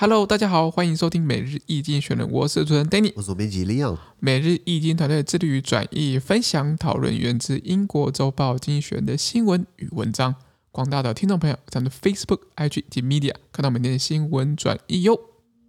Hello， 大家好，歡迎收聽每日一經選人，我是主持人 Danny， 我是總編輯 Leon。每日一經團隊致力於轉譯、分享、討論源自英國週報精選的新聞與文章。廣大的聽眾朋友，咱們的 Facebook、IG 及 Media 看到每天的新聞轉譯喲。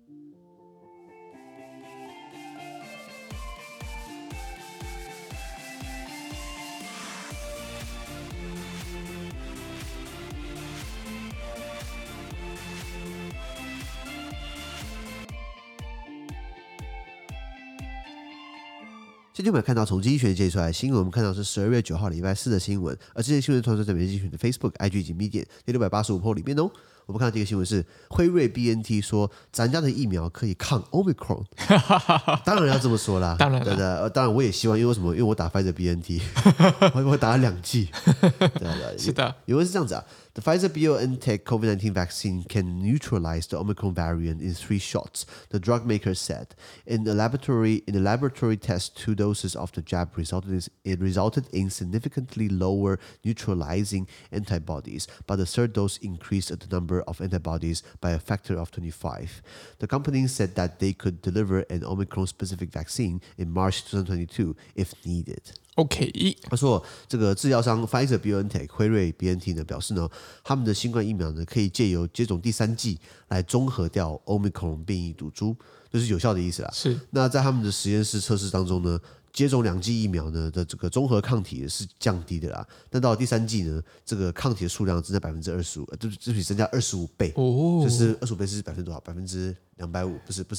今天我們看到從經濟學界出來的新聞，我們看到是12月9號禮拜四的新聞，而這些新聞傳送在每日精選的 Facebook、IG 及 Media 第685 po 裡面哦。我們看到這個新聞是輝瑞 BNT 說咱家的疫苗可以抗 Omicron， 當然要這麼說啦， 當然對的，當然我也希望，因為為什麼？因為我打 Pfizer BNT， 我打了2劑，對， 是的， 因為是這樣子啊。The Pfizer-BioNTech COVID-19 vaccine can neutralize the Omicron variant in 3 shots, the drug maker said. In the laboratory test, 2 doses of the jab resulted in significantly lower neutralizing antibodies, but the third dose increased the number of antibodies by a factor of 25. The company said that they could deliver an Omicron-specific vaccine in March 2022 if needed.OK， 他說這個製藥商 Pfizer-BioNTech 輝瑞 BNT 呢表示呢，他們的新冠疫苗呢可以借由接種第3劑來中和掉 Omicron 變異毒株，就是有效的意思啦。是。那在他們的實驗室測試當中呢，接種2劑疫苗呢的這個綜合抗體是降低的啦，但到了第3劑呢，這個抗體的數量增加25%，對不起，增加25倍，就是25倍是百分之多少？250%，不是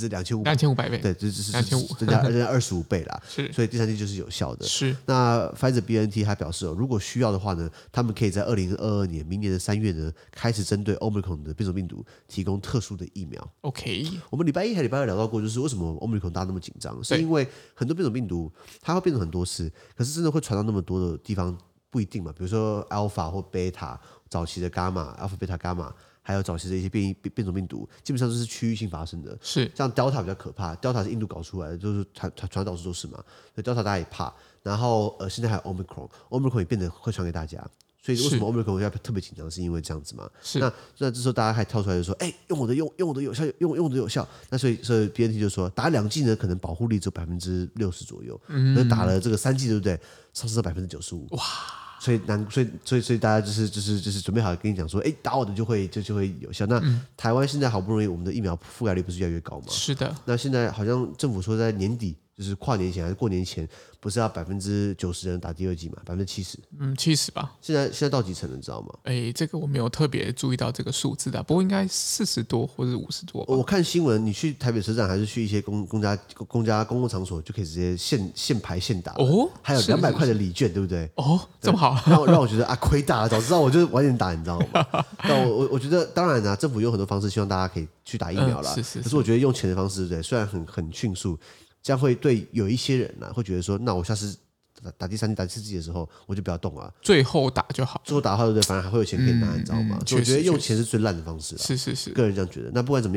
2500倍，对，就是增加25倍啦。是，所以第3劑就是有效的。是，那 Pfizer BNT 他表示如果需要的話呢，他們可以在2022年明年的3月呢，開始針對 Omicron 的變種病毒提供特殊的疫苗。OK， 我們禮拜1還禮拜2聊到過，就是為什麼 Omicron 大家那麼緊張，是因為很多變種病毒它會變成很多次，可是真的會傳到那麼多的地方不一定嘛。比如說 Alpha 或 Beta 早期的 Gamma、Alpha、Beta、Gamma。還有早期的一些變種病毒，基本上都是區域性發生的。是，像 Delta 比較可怕 ，Delta 是印度搞出來的，就是傳到處都是嘛，所以 Delta 大家也怕。然後現在還有 Omicron 也變得會傳給大家，所以為什麼 Omicron 要特別緊張，是因為這樣子嘛？是。那這時候大家還跳出來就說，用我的有效，用的有效。那所以 BNT 就說打2劑呢，可能保護力只有60%左右，那打了這個3劑，對不對？上升到95%。哇！所以大家就是準備好跟你講說，打我的就會有效。那台灣現在好不容易我們的疫苗覆蓋率不是越來越高嗎？是的。那現在好像政府說在年底，就是跨年前還是過年前，不是要90%人打第2劑嘛？70%。70吧。現在到幾成了，你知道嗎？ 這個我沒有特別注意到這個數字的，不過應該40多或者50多吧。 我看新聞，你去台北車站還是去一些公共場所，就可以直接現排現打。哦。還有200塊的禮券，對不對？哦，這麼好。讓我覺得虧大了，早知道我就晚點打，你知道嗎？那我覺得當然政府用很多方式，希望大家可以去打疫苗啦。可是我覺得用錢的方式，對，雖然很迅速，這樣會對有一些人會覺得說，那我下次打第3劑、打第4劑的時候，我就不要動了，最後打就好。最後打的話，对不對？反而還會有錢可以拿，你知道嗎？所以我覺得用錢是最爛的方式。是，個人這樣覺得。那不管怎麼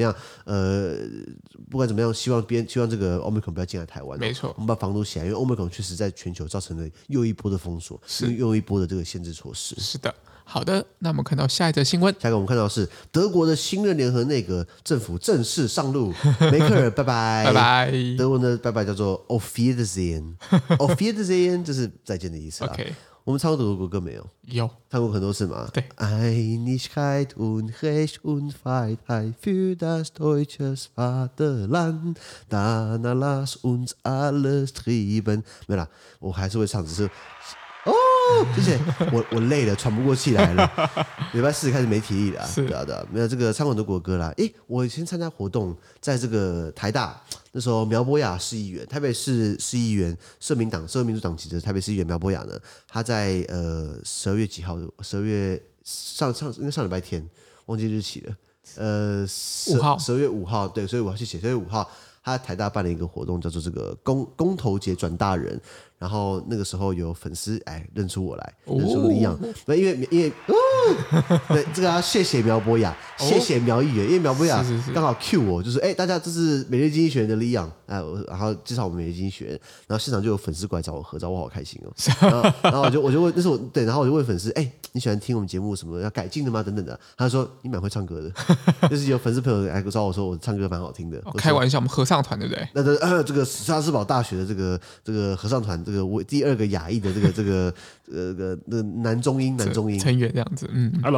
樣，希望這個 Omicron 不要進來台灣。沒錯，我們把防堵起來，因為 Omicron 確實在全球造成了又一波的封鎖，又一波的這個限制措施。是的。好的，那我們看到下一則新聞。下一個我們看到是德國的新任聯合內閣政府正式上路，梅克爾拜拜拜拜。德文的拜拜叫做 Auf Wiedersehen，Auf Wiedersehen 就是再見的意思啦。Okay. 我們唱過德國國歌沒有？有，唱過很多次嘛。對。Einigkeit und Recht und Freiheit für das deutsche Vaterland, danach lass uns alles treiben。沒啦，我還是會唱，只是。謝謝，我累了，喘不過氣來了。禮拜4開始沒體力了，是的，沒有這個唱很多國歌啦。我以前參加活動，在這個台大，那時候苗博雅市議員，台北市市議員，社民主黨籍的台北市議員苗博雅呢，他在12月幾號？12月應該上禮拜天，忘記日期了。12月5號，對，所以我要去寫12月5號。他在台大辦了一個活動，叫做這個公投節轉大人， 然後那個時候有粉絲認出我來，認出李昂。那因為對，這個要謝謝苗博雅，謝謝苗議員，因為苗博雅剛好 cue 我，就是大家這是每日經濟學人的李昂，然後介紹我們每日經濟學人，然後現場就有粉絲過來找我合照，我好開心哦。然後我就問，那是我對，然後我就問粉絲，你喜歡聽我們節目什麼要改進的嗎？等等的，他就說你蠻會唱歌的，就是有粉絲朋友來找我說我唱歌蠻好聽的。 開玩笑，我們合唱團對不对？ 那這個莎士堡大學的這個合唱團，這個第2個亞裔的這個男中音成員這樣子，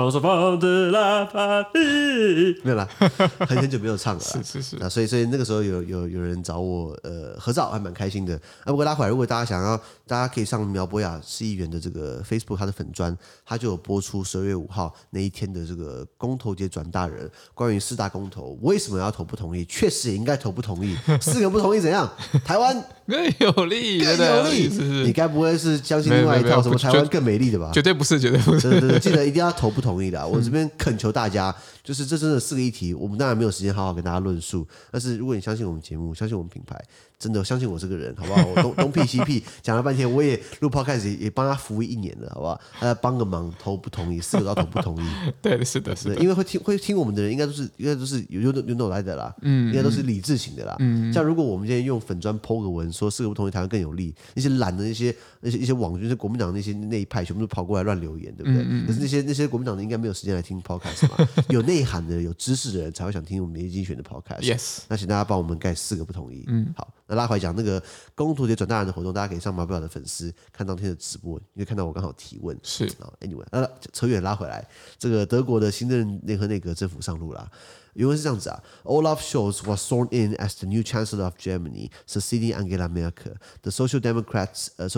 沒有啦，很久沒有唱了， 是啊，所以那個時候有人找我合照，還蠻開心的。不過拉回來，如果大家想要，大家可以上苗博雅市議員的這個 Facebook 他的粉專，他就有播出12月5號那一天的這個公投節轉大人，關於4大公投為什麼要投不同意，確實也應該投不同意，4個不同意怎樣？台灣更有利， 你該不會是相信另外一套什麼台灣更美麗的吧？ 絕對不是， 对，记得一定要投不同意的。我這邊懇求大家，就是這真的4個議題，我們當然沒有時間好好跟大家論述，但是如果你相信我們節目，相信我們品牌，真的相信我這個人，好不好？我東屁西屁講了半天，我也錄 podcast 也幫他服務1年了，好不好？大家幫個忙，投不同意，4個都要投不同意。 對，是的， 因为會聽我們的人，應該都是有腦來的啦，應該都是理智型的啦。像如果我們今天用粉專 po 個文說4個不同意台灣更有利，那些懶的那些網軍，國民黨那一派，全部都跑過來亂留言，對不對？可是那些國民黨的應該沒有時間來聽 podcast 嘛，有內涵的、有知識的人才會想聽我們每日精選的 podcast。 Yes， 那請大家幫我們蓋4個不同意。好。那拉回來講那個公投節轉大人的活動，大家可以上苗博雅的粉絲看當天的直播，因為看到我剛好提問。 是 ，anyway， 扯遠拉回來，這個德國的新任聯合內閣政府上路啦。原文是這樣子啊 ，Olaf Scholz was sworn in as the new Chancellor of Germany, succeeding Angela Merkel. The Social Democrat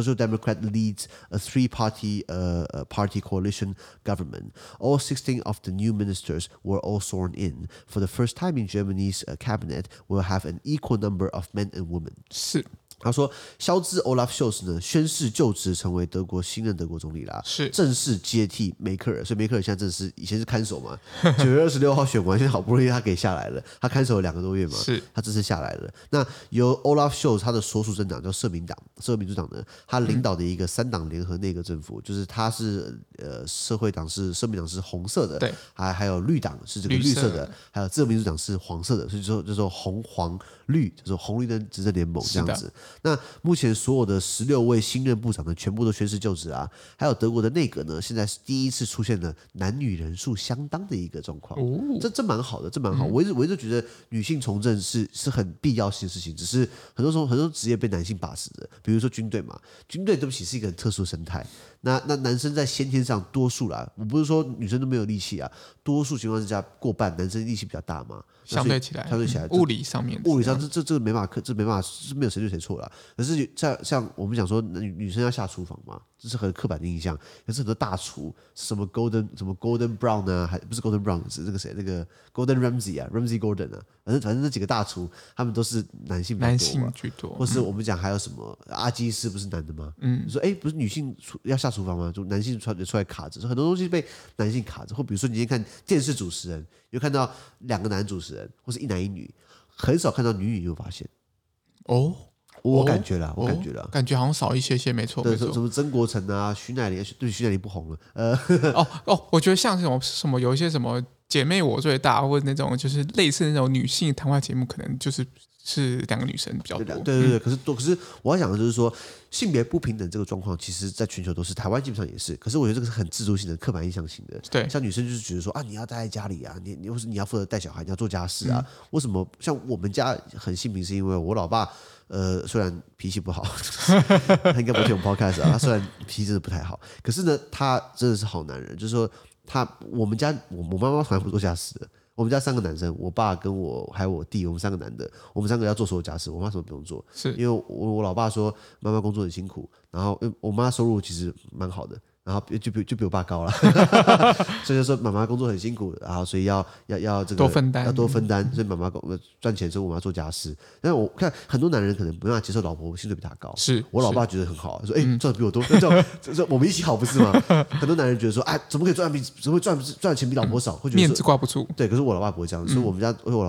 leads a three-party party coalition government. All 16 of the new ministers were all sworn in. For the first time in Germany's cabinet, will have an equal number of men and women. 是。 他說，肖茲 Olaf Scholz 呢宣誓就職成為新任德國總理啦， 是正式接替梅克爾，所以梅克爾現在正是以前是看守嘛，9月26號選完，現在好不容易他給下來了，他看守了2個多月嘛， 是他這次下來了。那由 Olaf Scholz 他的所屬政黨叫社民主黨呢，他領導的一個3黨聯合內閣政府，就是他是社民黨是紅色的， 對， 還有綠黨是這個綠色的，還有自由民主黨是黃色的，所以就說紅黃綠，就是紅綠燈執政聯盟這樣子。那目前所有的16位新任部長呢，全部都宣誓就職啊。還有德國的內閣呢，現在是第一次出現了男女人數相當的一個狀況，這蠻好的，這蠻好。我一直覺得女性從政是很必要性的事情，只是很多職業被男性把持的，比如說軍隊嘛，軍隊對不起是一個很特殊的生態。那男生在先天上多數啦，我不是說女生都沒有力氣啊，多數情況之下過半男生力氣比較大嘛， 相對起來，物理上這沒辦法，這沒辦法，是沒有誰對誰錯啦。可是像我們講說女生要下廚房嘛，這是很刻板的印象。可是很多大廚什麼 Golden Brown 啊，還不是 Golden Brown， 是那個誰，那個 Gordon Ramsay 啊 ，Ramsay Gordon 啊，反正那幾個大廚他們都是男性居多，或是我們講還有什麼阿基師不是男的嗎？你說不是女性要下廚房嗎？就男性出來卡着，很多東西被男性卡着。或比如說你今天看電視主持人，有看到2個男主持人，或是1男1女，很少看到女，你有發現？我感覺啦， 感覺好像少一些，沒錯。 對，什麼曾國城啊、徐乃麟，對，徐乃麟不紅了。 我覺得像什麼有一些什麼姐妹我最大，或者那種就是類似那種女性談話節目，可能就是2個女生比較多。 對。可是我要講的就是說，性別不平等這個狀況，其實在全球都是，台灣基本上也是。可是我覺得這個是很制度性的、刻板印象型的。 對， 像女生就是覺得說啊，你要待在家裡啊，你或是你要負責帶小孩，你要做家事啊。為什麼？像我們家很性平，是因為我老爸。雖然脾氣不好，他應該不會聽我們 podcast 啊。他雖然脾氣真的不太好，可是呢，他真的是好男人。就是說，我們家我媽媽從來不做家事的。我們家3個男生，我爸跟我還有我弟，我們3個男的，我們3個要做所有家事，我媽什麼不用做。是因為我老爸說媽媽工作很辛苦，然後我媽收入其實蠻好的。然後就比我爸高了，所以就說媽媽工作很辛苦，然後所以要這個多分擔， 所以媽媽賺錢，所以我們要做家事。但是我看很多男人可能沒辦法接受老婆薪水比他高，我老爸覺得很好，說賺的比我多，那我們一起好不是嗎？很多男人覺得說，怎麼可以賺錢比老婆少，會覺得面子掛不住。 對，可是我老爸不會這樣，所以我們家我老爸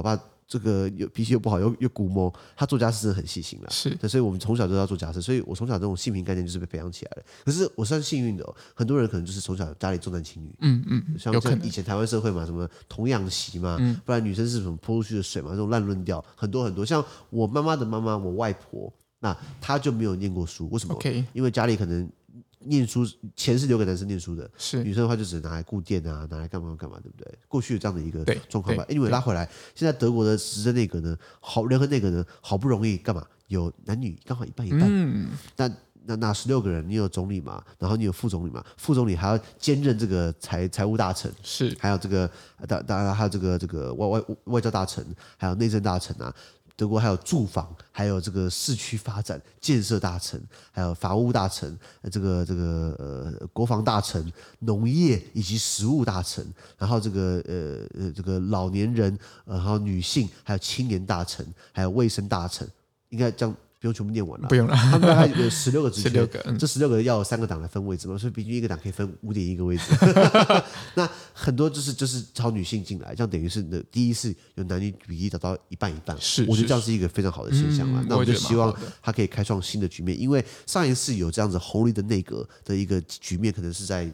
這個有脾氣又不好又古謀，他做家事真的很細心啦。 是， 所以我們從小就要做家事，所以我從小這種性平概念就是被培養起来的。可是我算幸運的很多人可能就是從小家裡重男輕女，像以前台灣社會嘛，什麼童養媳嘛，不然女生是什麼潑出去的水嘛，這種爛論調很多很多。像我媽媽的媽媽，我外婆，那她就沒有念過書，為什麼？因為家裡可能。念書錢是留給男生念書的，是女生的話就只能拿來顧店啊，拿來幹嘛幹嘛，對不對？過去有這樣的一個狀況吧。因為拉回來，現在德國的執政內閣呢，聯合內閣呢，好不容易幹嘛？有男女剛好一半一半。那16個人，你有總理嘛，然後你有副總理嘛，副總理還要兼任這個財務大臣，是還有這個當然還有這個外交大臣，還有內政大臣啊。德國還有住房，還有這個市區發展建設大臣，還有法務大臣，這個國防大臣、農業以及食物大臣，然後這個老年人，然後女性，還有青年大臣，還有衛生大臣，應該這樣。不用全部念完了， 不用了。 他们大概有16個職缺，這16個要有3個黨來分位置嘛，所以平均一個黨可以分5.1個位置。那很多就是朝女性進來，這樣等於是第一次有男女比例達到一半一半。我覺得這樣是一個非常好的現象嘛。那我就希望他可以開創新的局面，因為上一次有這樣子紅利的內閣的一個局面，可能是在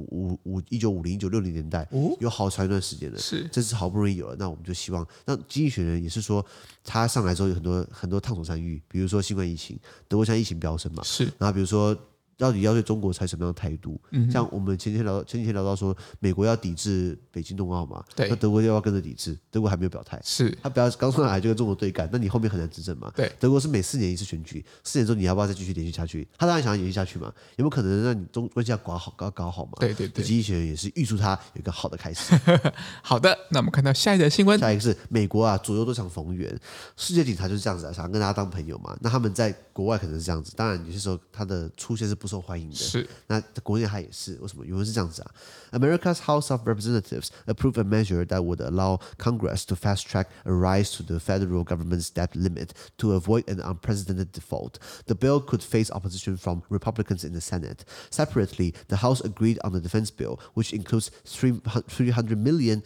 1950、1960年代，有好長一段時間了。這次好不容易有了，那我們就希望，那經濟學人也是說，他上來之後有很多燙手山芋，比如說新冠疫情，德國現在疫情飆升嘛，是。然後比如說，到底要對中國採什麼樣的態度？像我們前幾天聊到說，美國要抵制北京冬奧嘛，對。那德國要不要跟着抵制？德國還沒有表態，是。他不要剛上來就跟中國對幹，那你後面很難執政嘛。對。德國是每4年一次選舉，4年之後你要不要再繼續連續下去？他當然想要延續下去嘛，有沒有可能讓你中關係要搞好嘛？對。經濟學人也是預祝他有一個好的開始。 好的，那我們看到下一則新聞， 下一個是美國啊，左右都想逢源，世界警察就是這樣子啊，想跟大家當朋友嘛。那他們在國外可能是這樣子，當然有些時候他的出現是不受歡迎的。是。那國內他也是，為什麼？原文是這樣子啊 ：America's House of Representatives approved a measure that would allow Congress to fast-track a rise to the federal government's debt limit to avoid an unprecedented default. The bill could face opposition from Republicans in the Senate. Separately, the House agreed on the defense bill, which includes $300 million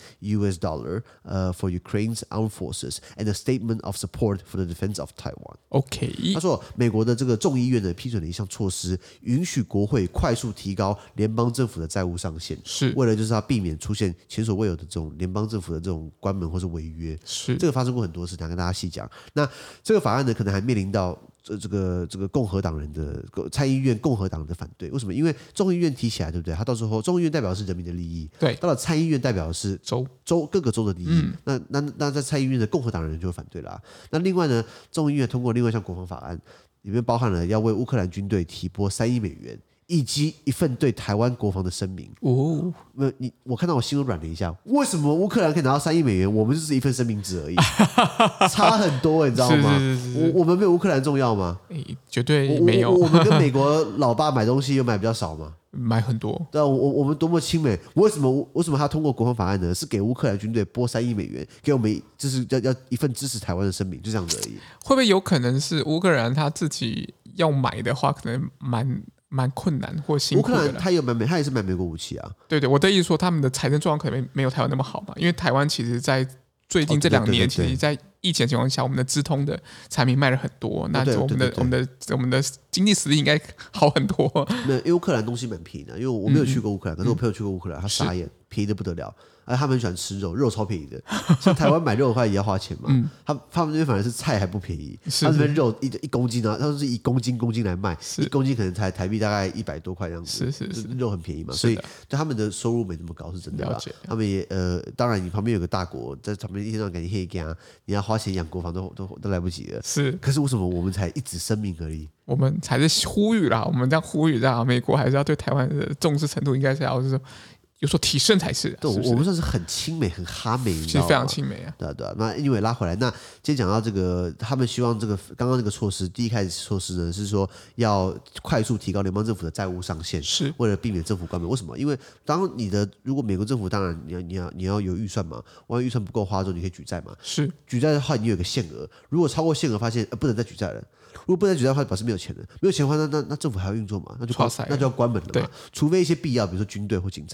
for Ukraine's armed forces and a statement of support for the defense of Taiwan. OK， 他說，美國的這個眾議院呢批准了一項措施，允許國會快速提高聯邦政府的債務上限，是為了就是要避免出現前所未有的這種聯邦政府的這種關門或是違約。是這個發生過很多次，想跟大家細講。那這個法案呢，可能還面臨到這個共和黨人的參議院共和黨的反對。為什麼？因為眾議院提起來，對不對？他到時候眾議院代表的是人民的利益，對；到了參議院代表的是各個州的利益。那在參議院的共和黨人就會反對啦。那另外呢，眾議院通過另外一項國防法案，裡面包含了要為烏克蘭軍隊提撥3億美元。以及一份對台灣國防的聲明。我看到我心都軟了一下。為什麼烏克蘭可以拿到3億美元，我們就是一份聲明紙而已，差很多，你知道嗎？我們沒有烏克蘭重要嗎？ 絕對沒有。 我們跟美國老爸買東西又買比較少嗎？ 買很多。對啊， 我們多麼親美。為什麼他通過國防法案呢？是給烏克蘭軍隊撥3億美元，給我們就是要一份支持台灣的聲明，就這樣子而已。 會不會有可能是烏克蘭他自己要買的話，可能蠻困難或辛苦的。 烏克蘭他也是買美國武器啊。 對，我的意思說，他們的財政狀況可能沒有台灣那麼好嘛，因為台灣其實在最近這2年，其實在疫情的情況下，我們的資通的產品賣了很多，那我們的經濟實力應該好很多。 因為烏克蘭東西蠻便宜的，因為我沒有去過烏克蘭，可是我朋友去過烏克蘭，他傻眼，便宜的不得了。他們很喜歡吃肉超便宜的。像台灣買肉的話也要花錢嘛。他們那邊反而是菜還不便宜，他們那邊肉一公斤啊，他們是以公斤來賣，1公斤可能才台幣大概100多塊這樣子。是肉很便宜嘛，所以對他們的收入沒那麼高，是真的啦。他們也當然你旁邊有個大國在旁邊一天到晚給你黑幹，你要花錢養國防都來不及了。是，可是為什麼我們才一紙聲明而已？ 我們才是呼籲啦，我們這樣呼籲啦，美國還是要對台灣的重視程度應該是要就是有所提升才是。 對，我們算是很親美、很哈美，你知道嗎？ 其實非常親美啊。 對。那因為拉回來，那今天講到這個，他們希望這個剛剛那個措施，第一開始措施呢是說要快速提高聯邦政府的債務上限，是為了避免政府關門。為什麼？因為如果美國政府當然你要有預算嘛，萬一預算不夠花之後，你可以舉債嘛。是舉債的話，你有一個限額，如果超過限額，發現不能再舉債了。如果不能舉債的話，表示沒有錢了。沒有錢的話，那政府還要運作嘛？那就要關門了嘛。除非一些必要，比如說軍隊或警察。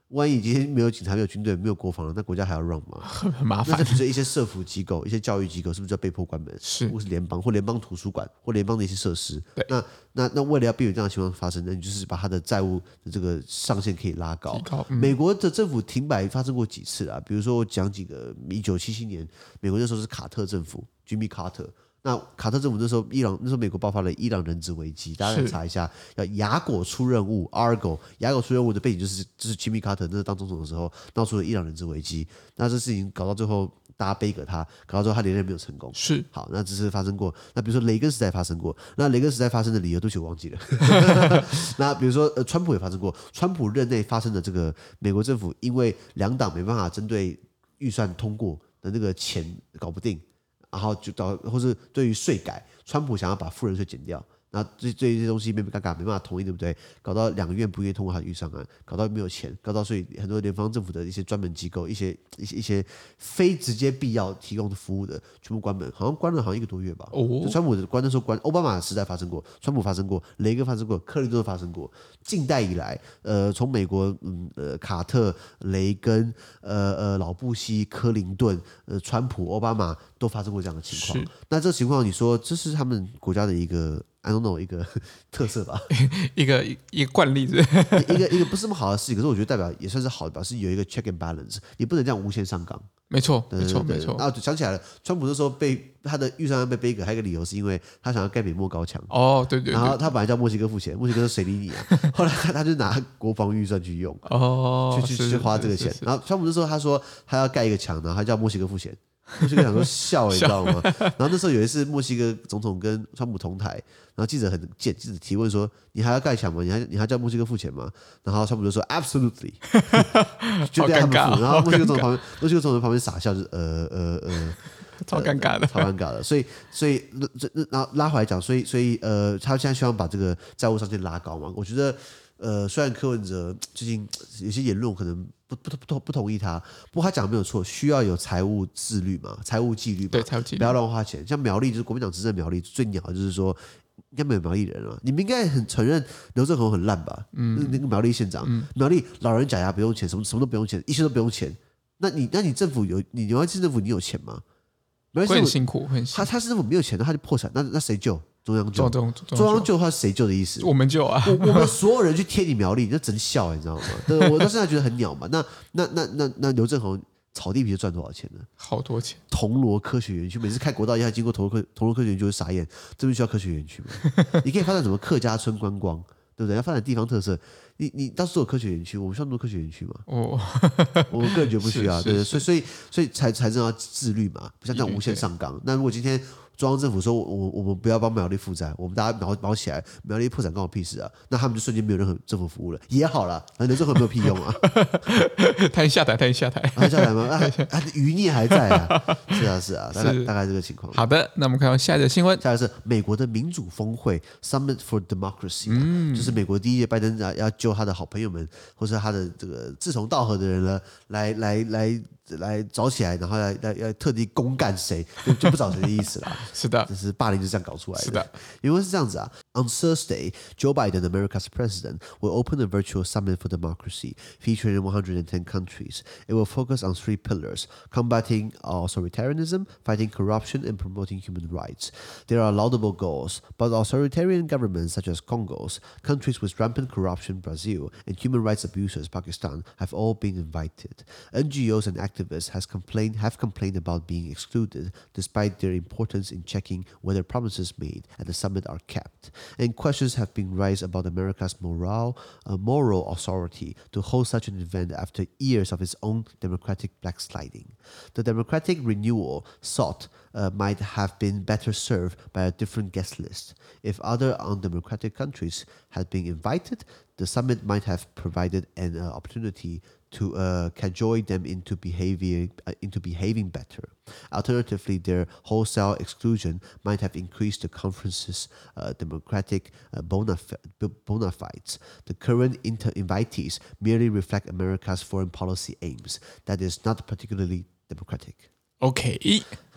萬一今天沒有警察、沒有軍隊、沒有國防了，那國家還要 run 嗎？ 很麻煩。 那比如說一些社福機構、一些教育機構，是不是就要被迫關門？ 是， 或是聯邦或聯邦圖書館或聯邦的一些設施。 对， 那為了要避免這樣的情況發生，那你就是把它的債務的這個上限可以拉高。美國的政府停擺發生過幾次啊？比如說我講幾個，1977年，美國那時候是卡特政府 ，Jimmy Carter。那卡特政府那时候美國爆發了伊朗人質危機，大家可以查一下，叫雅果出任務 Argo， 雅果出任務的背景就是 Jimmy Carter 那時候當總統的時候鬧出了伊朗人質危機，那這事情搞到最後大家背給他，搞到最後他連任沒有成功。 是， 好，那这是發生過。那比如說雷根時代發生過，那雷根時代發生的理由都我忘記了。那比如說川普也發生過，川普任內發生的這個美國政府因為兩黨沒辦法針對預算通過的那個錢搞不定。然後或是對於稅改，川普想要把富人稅減掉，那對於這些東西沒辦法同意，對不對？搞到兩個院不願意通過他的預算案，搞到沒有錢，搞到所以很多聯邦政府的一些專門機構，一些非直接必要提供的服務的全部關門，好像關了1個多月吧。就川普的關的時候關，奧巴馬時代發生過，川普發生過，雷根發生過，克林頓發生過。近代以來，從美國卡特、雷根、老布希、克林頓、川普、奧巴馬都發生過這樣的情況。那這個情況，你說這是他們國家的一個 I don't know 一個特色吧？ 一個慣例是一個不是那麼好的事情，可是我覺得代表也算是好的，表示有一個 check and balance，你不能這樣無限上綱。 沒錯，沒錯。 然後想起來了，川普那時候被他的預算案被背給，還有一個理由是因為他想要蓋美墨高牆。 哦，對。 然後他本來叫墨西哥付錢，墨西哥說誰理你啊？後來他就拿國防預算去用，去花這個錢。然後川普那時候他說他要蓋一個牆，然後他叫墨西哥付錢。墨西哥想說笑，你知道嗎？然後那時候有一次墨西哥總統跟川普同台，然後記者很賤，記者提問說：“你還要蓋牆嗎？你還叫墨西哥付錢嗎？”然後川普就說 ：“Absolutely。”就對他們付。然後墨西哥總統旁邊傻笑，就是超尷尬的， 超尷尬的。所以然後拉回來講，所以他現在希望把這個債務上限拉高嘛？我覺得雖然柯文哲最近有些言論可能不同意他，不過他講的沒有錯，需要有財務自律嘛，財務紀律嘛， 對，財務紀律， 不要亂花錢。像苗栗就是國民黨執政苗栗最鳥的就是說，應該沒有苗栗人了，你們應該很承認劉政鴻很爛吧？那個苗栗縣長，苗栗老人假牙不用錢，什麼都不用錢，一切都不用錢。那你政府你苗栗市政府你有錢嗎？ 會很辛苦， 他市政府沒有錢，那他就破產，那誰救？中央救的話是誰救的意思？ 我們救啊！ 我們所有人去貼你苗栗，你就真笑，你知道嗎？對，我到現在覺得很鳥嘛。那劉政鴻炒地皮就賺多少錢呢？ 好多錢！ 銅鑼科學園區，每次開國道一下經過銅鑼科學園區就會傻眼，這邊需要科學園區嗎？你可以發展什麼客家村觀光，對不對？要發展地方特色，你到處都有科學園區，我們需要那麼多科學園區嗎？我個人覺得不需要，對，所以財政要自律嘛，不像這樣無限上綱。那如果今天中央政府說我們不要幫苗栗負債，我們大家毛起來，苗栗破產關我屁事啊！那他們就瞬間沒有任何政府服務了，也好了，反正劉政鴻沒有屁用啊！ 他已經下台， 下台嗎？餘孽還在啊！是啊，大概這個情況。 好的，那我們看到下一個新聞， 下一個是美國的民主峰會 Summit for Democracy，就是美國第一屆拜登要救他的好朋友們，或是他的這個志同道合的人呢，來找起來，然後要特地公幹誰，就不找誰的意思啦。 是的， 就是霸凌就這樣搞出來的。 是的， 因為是這樣子啊。On Thursday, Joe Biden, America's president, will open a virtual summit for democracy, featuring 110 countries. It will focus on 3 pillars: combating authoritarianism, fighting corruption, and promoting human rights. There are laudable goals, but authoritarian governments such as Congo's, countries with rampant corruption, Brazil, and human rights abuses, Pakistan, have all been invited. NGOs and activists have complained about being excluded, despite their importance in checking whether promises made at the summit are kept. And questions have been raised about America's moral authority to hold such an event after years of its own democratic backsliding. The democratic renewal sought might have been better served by a different guest list. If other undemocratic countries had been invited, the summit might have provided an opportunity to cajole them into behaving better. Alternatively, their wholesale exclusion might have increased the conference's democratic bona fides. The current invitees merely reflect America's foreign policy aims. That is not particularly democratic. OK，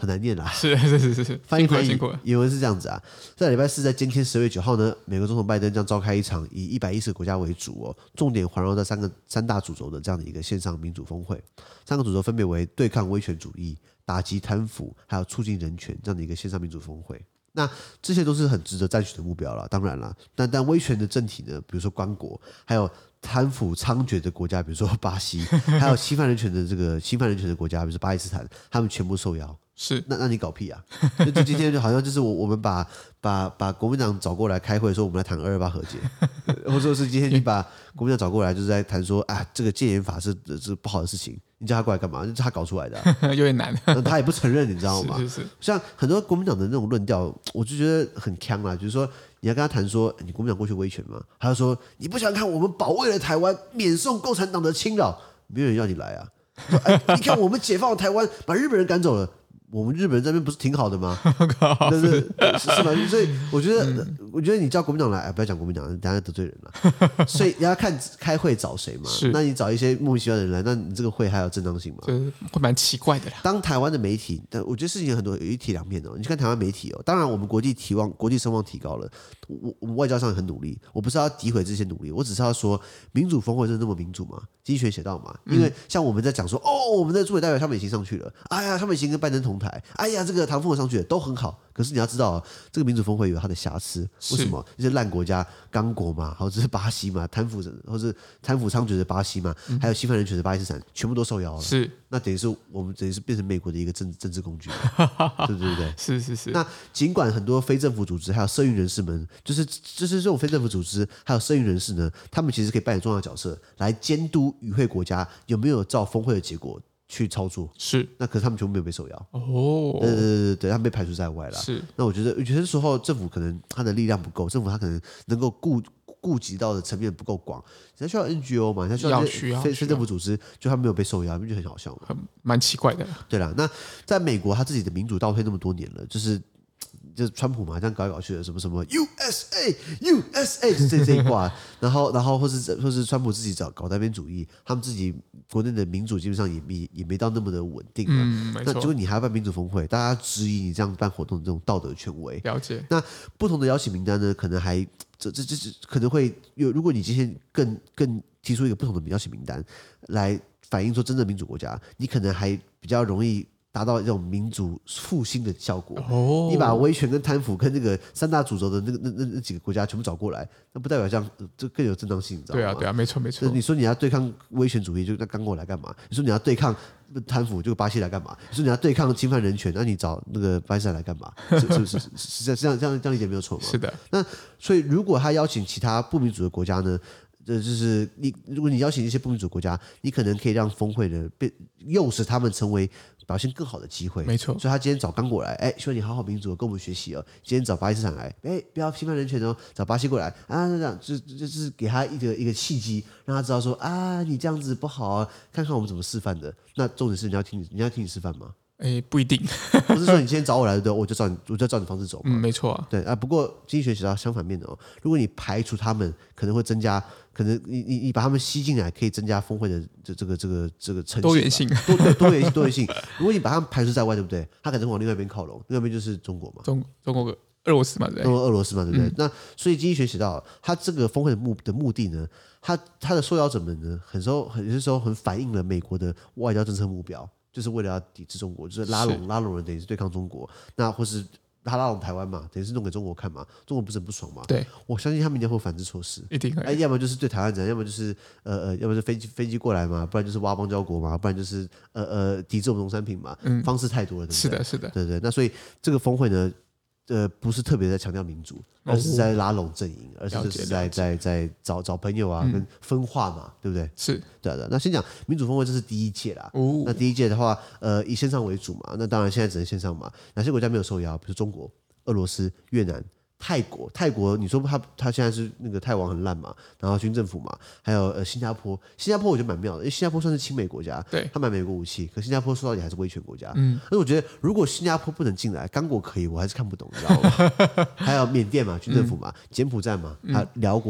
很難念啦。 是， 翻譯原文是這樣子啊，在禮拜四在今天12月9號呢，美國總統拜登將召開一場以110個國家為主哦，重點環繞在三大主軸的這樣的一個線上民主峰會。3個主軸分別為對抗威權主義、打擊貪腐，還有促進人權這樣的一個線上民主峰會。那這些都是很值得讚許的目標啦，當然啦，但威權的政體呢，比如說剛果，還有貪腐猖獗的國家，比如說巴西，還有侵犯人權的國家，比如說巴基斯坦，他們全部受邀。 是， 那你搞屁啊！就今天就好像就是我們把國民黨找過來開會，說我們來談228和解，或者說是今天你把國民黨找過來，就是在談說啊，這個戒嚴法是不好的事情，你叫他過來幹嘛？是他搞出來的、啊， 有點難。 他也不承認，你知道嗎？ 是。 像很多國民黨的那種論調，我就覺得很鏘啦。就是說，你要跟他談說，你國民黨過去威權嗎？他就說你不想看我們保衛了台灣，免受共產黨的侵擾，沒有人要你來啊。說你看我們解放了台灣，把日本人趕走了。我們日本人這邊不是挺好的嗎？是吧？所以我覺得你叫國民黨來，不要講國民黨，等下得罪人了。所以你要看開會找誰嘛。那你找一些莫名其妙的人來，那你這個會還有正當性嗎？ 會蠻奇怪的啦。當台灣的媒體，但我覺得事情有很多有一體兩面哦。你去看台灣媒體哦，當然我們國際聲望提高了，我們外交上也很努力。我不是要詆毀這些努力，我只是要說民主峰會真的那麼民主嗎？經濟學寫到嘛，因為像我們在講說，我們的駐美代表蕭美琴上去了，哎呀，蕭美琴跟拜登同台，哎呀，這個唐鳳和上去了都很好。可是你要知道，這個民主峰會有它的瑕疵。為什麼？一些爛國家，剛果嘛，或者是巴西嘛，貪腐猖獗的巴西嘛，還有侵犯人權的巴基斯坦，全部都受邀了。是，那等於是我們變成美國的一個政治工具，對不對？ 是。 那儘管很多非政府組織還有社運人士們，就是這種非政府組織還有社運人士呢，他們其實可以扮演重要的角色，來監督與會國家有沒有照峰會的結果去操作。是，那可是他們全部沒有被受邀。對，他們被排除在外了。是，那我覺得有些時候政府可能他的力量不夠，政府他可能能夠顧及到的層面不夠廣，人家需要 NGO 嘛，人家需要非政府組織，就他沒有被受邀，就很好笑嘛， 蠻奇怪的。對啦，那在美國他自己的民主倒退那麼多年了，就是川普嘛，這樣搞來搞去的，什麼 USA 這一掛，然後或是川普自己搞單邊主義，他們自己國內的民主基本上也沒到那麼的穩定。那結果你還要辦民主峰會，大家質疑你這樣辦活動的這種道德權威。了解。那不同的邀請名單呢，可能還這可能會有，如果你今天更提出一個不同的邀請名單來反映說真正的民主國家，你可能還比較容易達到這種民主復興的效果。你把威權跟貪腐跟那個三大主軸的那幾個國家全部找過來，那不代表這樣就更有正當性，你知道嗎？對啊，沒錯。你說你要對抗威權主義，就那剛過來幹嘛？你說你要對抗貪腐，就巴西來幹嘛？你說你要對抗侵犯人權，那你找那個巴基斯坦來幹嘛？是這樣理解沒有錯嗎？是的。那所以如果他邀請其他不民主的國家呢？就是如果你邀請一些不民主國家，你可能可以讓峰會呢誘使他們成為表現更好的機會。沒錯，所以他今天找剛果來，希望你好好民主，跟我們學習哦。今天找巴基斯坦來，不要侵犯人權哦。找巴西過來啊，這樣就是給他一個契機，讓他知道說啊，你這樣子不好啊，看看我們怎麼示範的。那重點是你要聽你示範嗎？不一定，不是說你今天找我來的，我就照你方式走。沒錯啊。對啊，不過經濟學寫到相反面的哦，如果你排除他們，可能會增加，可能你把他們吸進来，可以增加峰會的这個成绩多元性，多元性。如果你把他們排除在外，對不對？他可能往另外一邊靠攏，另外一邊就是中國嘛，中國俄羅斯嘛，對不對？俄羅斯嘛，對不對？那所以經濟學寫到，他這個峰會的目的呢，他的受邀者們呢，有些時候很反映了美國的外交政策目標。就是為了要抵制中國，就是拉攏人，等於是對抗中國。那或是他拉攏台灣嘛，等於是弄給中國看嘛。中國不是很不爽嘛？對，我相信他們一定會反制措施，一定會。要麼就是對台灣人，要麼就是要麼是飛機過來嘛，不然就是挖邦交國嘛，不然就是抵制我們農產品嘛。方式太多了，對不對？是的，對。那所以這個峰會呢，不是特別在強調民主，而是在拉攏陣營，而是就是在找朋友啊，跟分化嘛，對不對？是，對。那先講民主峰會，這是第一屆啦。那第一屆的話，以線上為主嘛，那當然現在只能線上嘛。哪些國家沒有受邀？比如中國、俄羅斯、越南。泰國，你說他現在是那個泰王很爛嘛，然後軍政府嘛，還有新加坡我覺得蠻妙的，因為新加坡算是親美國家，對，他買美國武器，可新加坡說到底還是威權國家，所以我覺得如果新加坡不能進來，剛果可以，我還是看不懂，你知道嗎？還有緬甸嘛，軍政府嘛，柬埔寨嘛，還有寮國等等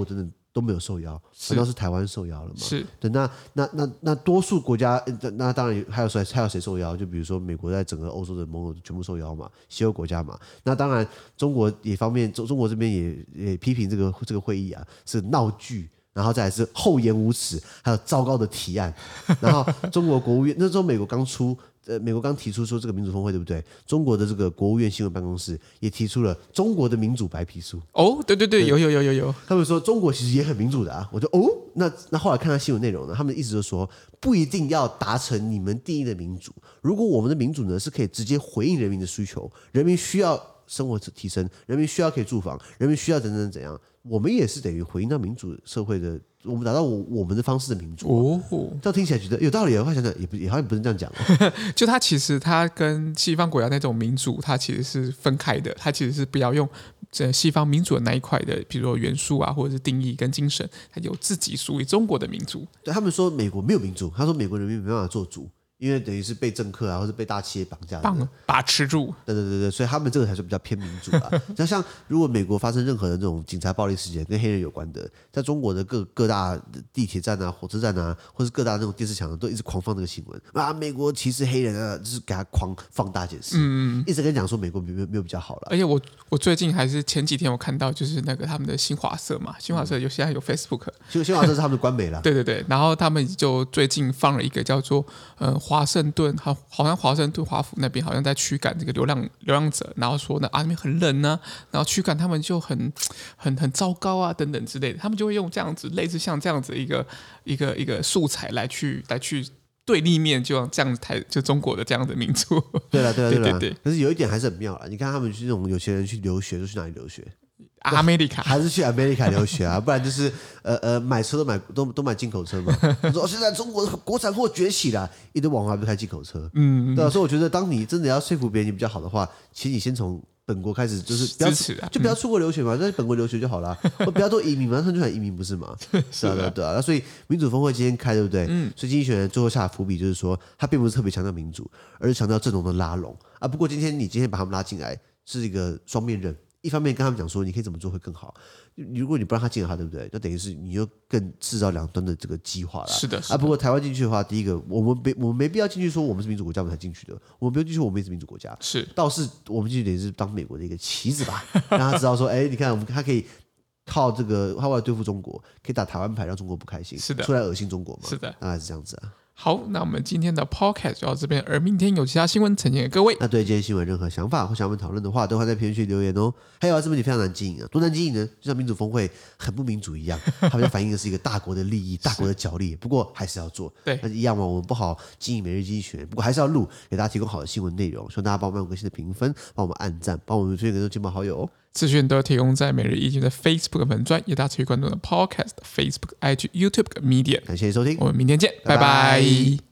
都沒有受邀，反倒是台灣受邀了嘛？ 是。 對，那多數國家，那當然還有誰受邀？就比如說美國在整個歐洲的盟友全部受邀嘛，西歐國家嘛。那當然中國也方面，中國這邊也批評這個會議啊是鬧劇，然後再來是厚顏無恥，還有糟糕的提案。然後中國國務院那時候美國剛提出說這個民主峰會對不對？中國的這個國務院新聞辦公室也提出了中國的民主白皮書。 哦，對，有。 他們說中國其實也很民主的啊。我就那後來看他新聞內容呢，他們的意思就是說不一定要達成你們定義的民主。如果我們的民主呢是可以直接回應人民的需求，人民需要生活提升，人民需要可以住房，人民需要怎樣，我們也是等於回應到民主社會的。我們達到我們的方式的民主這樣聽起來覺得有道理。我想想也好像不是這樣講就它其實它跟西方國家那種民主，它其實是分開的。它其實是不要用西方民主的那一塊的，比如說元素啊，或者是定義跟精神，它有自己屬於中國的民主。 對，他們說美國沒有民主，他說美國人民沒辦法做主。因為等於是被政客啊，或者被大企業綁架的， 把持住。 对，所以他們這個才是比較偏民主啊。像如果美國發生任何的這種警察暴力事件跟黑人有關的，在中國的各大地鐵站啊、火車站啊，或是各大那種電視牆都一直狂放這個新聞啊，美國歧視黑人啊，就是給他狂放大解釋，一直跟你講說美國沒有比較好了。 而且我最近還是前幾天我看到就是那個他們的新華社嘛，新華社現在有 Facebook， 新華社是他們的官媒啦。 对，然後他們就最近放了一個叫做華盛頓，好像華盛頓華府那邊好像在驅趕這個流浪者，然後說呢那邊很冷啊，然後驅趕他們就很糟糕啊等等之類的，他們就會用這樣子類似像這樣子一個素材來去對立面，就這樣子就中國的這樣的民主。 對。可是有一點還是很妙啦，你看他們去那種有錢人去留學，都去哪裡留學 ？America 還是去 America 留學啊？不然就是買車都買進口車嘛。他說現在中國的國產貨崛起了，一堆網紅還不開進口車。對啊，所以我覺得當你真的要說服別人你比較好的話，其實你先從本國開始，就是支持啊， 就不要出國留學嘛，在本國留學就好了。不要多移民嘛，他们就想移民不是嗎？是啊，對啊。那所以民主峰會今天開，對不對？所以經濟學人最後下的伏筆就是說，他並不是特別強調民主，而是強調陣容的拉攏啊。不過今天把他們拉進來是一個雙面刃。一方面跟他們講說，你可以怎麼做會更好。如果你不讓他進來的話，對不對？那等於是你又更製造兩端的這個激化了。 是的。 不過台灣進去的話，第一個，我們沒必要進去說我們是民主國家，我們才進去的。我們不用進去，我們也是民主國家。 是。 倒是我們進去等於是當美國的一個棋子吧，讓他知道說，你看他可以靠這個，他為了對付中國，可以打台灣牌，讓中國不開心。是的。出來惡心中國嘛。 是的。 大概是這樣子啊。 好，那我們今天的 podcast 就到這邊，而明天有其他新聞呈現給各位。 那對今天新聞有任何想法或想我們討論的話，都會在評論區留言哦。還有這問題非常難經營啊，多難經營呢？就像民主峰會很不民主一樣，他們要反映的是一個大國的利益、大國的角力。不過還是要做， 對， 那一樣嘛。我們不好經營每日經濟學，不過還是要錄，給大家提供好的新聞內容。希望大家幫我們用個新的評分，幫我們按讚，幫我們推薦給更多親朋好友哦。 資訊都提供在每日一經的 Facebook 粉專，也大家持續關注的 Podcast、Facebook、IG、YouTube 跟 Media。 感謝收聽， 我們明天見，拜拜。